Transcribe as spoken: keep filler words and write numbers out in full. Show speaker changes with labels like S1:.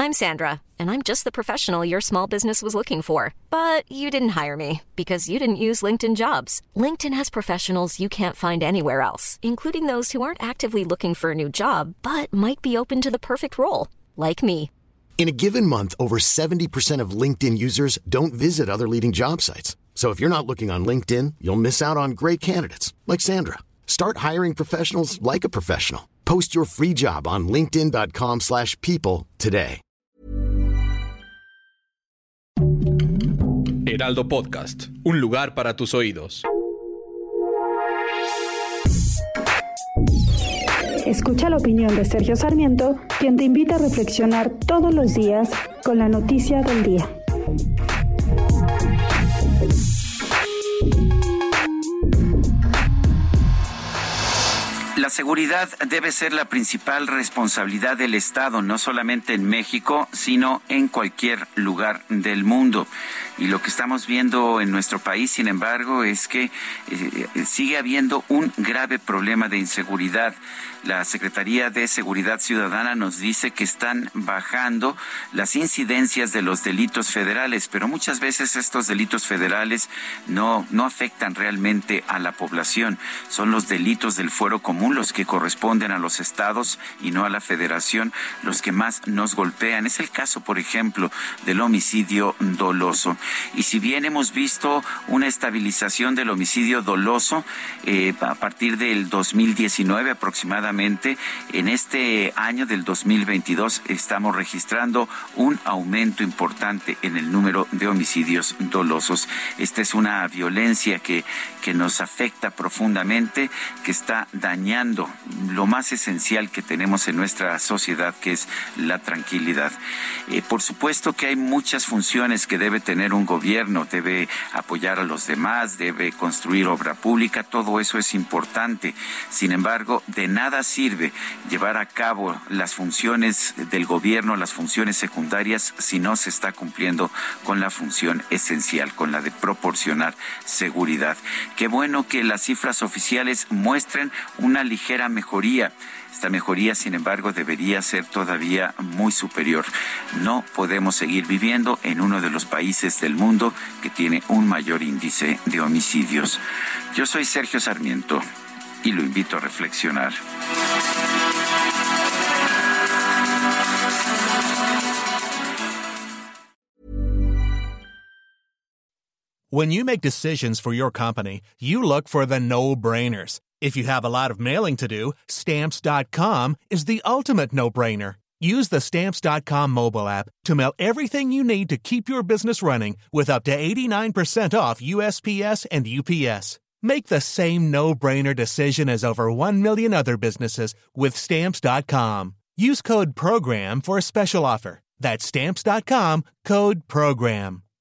S1: I'm Sandra, and I'm just the professional your small business was looking for. But you didn't hire me because you didn't use LinkedIn Jobs. LinkedIn has professionals you can't find anywhere else, including those who aren't actively looking for a new job, but might be open to the perfect role, like me.
S2: In a given month, over seventy percent of LinkedIn users don't visit other leading job sites. So if you're not looking on LinkedIn, you'll miss out on great candidates like Sandra. Start hiring professionals like a professional. Post your free job on linkedin dot com slash people today.
S3: Heraldo Podcast, un lugar para tus oídos.
S4: Escucha la opinión de Sergio Sarmiento, quien te invita a reflexionar todos los días con la noticia del día.
S5: La seguridad debe ser la principal responsabilidad del Estado, no solamente en México, sino en cualquier lugar del mundo. Y lo que estamos viendo en nuestro país, sin embargo, es que eh, sigue habiendo un grave problema de inseguridad. La Secretaría de Seguridad Ciudadana nos dice que están bajando las incidencias de los delitos federales, pero muchas veces estos delitos federales no, no afectan realmente a la población. Son los delitos del fuero común los que corresponden a los estados y no a la federación los que más nos golpean. Es el caso, por ejemplo, del homicidio doloso. Y si bien hemos visto una estabilización del homicidio doloso eh, a partir del dos mil diecinueve aproximadamente, en este año del dos mil veintidós estamos registrando un aumento importante en el número de homicidios dolosos. Esta es una violencia que, que nos afecta profundamente, que está dañando lo más esencial que tenemos en nuestra sociedad, que es la tranquilidad. Eh, por supuesto que hay muchas funciones que debe tener un gobierno, debe apoyar a los demás, debe construir obra pública, todo eso es importante. Sin embargo, de nada sirve llevar a cabo las funciones del gobierno, las funciones secundarias, si no se está cumpliendo con la función esencial, con la de proporcionar seguridad. Qué bueno que las cifras oficiales muestren una ligera mejoría. Esta mejoría, sin embargo, debería ser todavía muy superior. No podemos seguir viviendo en uno de los países del mundo que tiene un mayor índice de homicidios. Yo soy Sergio Sarmiento y lo invito a reflexionar.
S6: When you make decisions for your company, you look for the no-brainers. If you have a lot of mailing to do, Stamps dot com is the ultimate no-brainer. Use the Stamps dot com mobile app to mail everything you need to keep your business running with up to eighty-nine percent off U S P S and U P S. Make the same no-brainer decision as over one million other businesses with Stamps dot com. Use code PROGRAM for a special offer. That's Stamps dot com, code PROGRAM.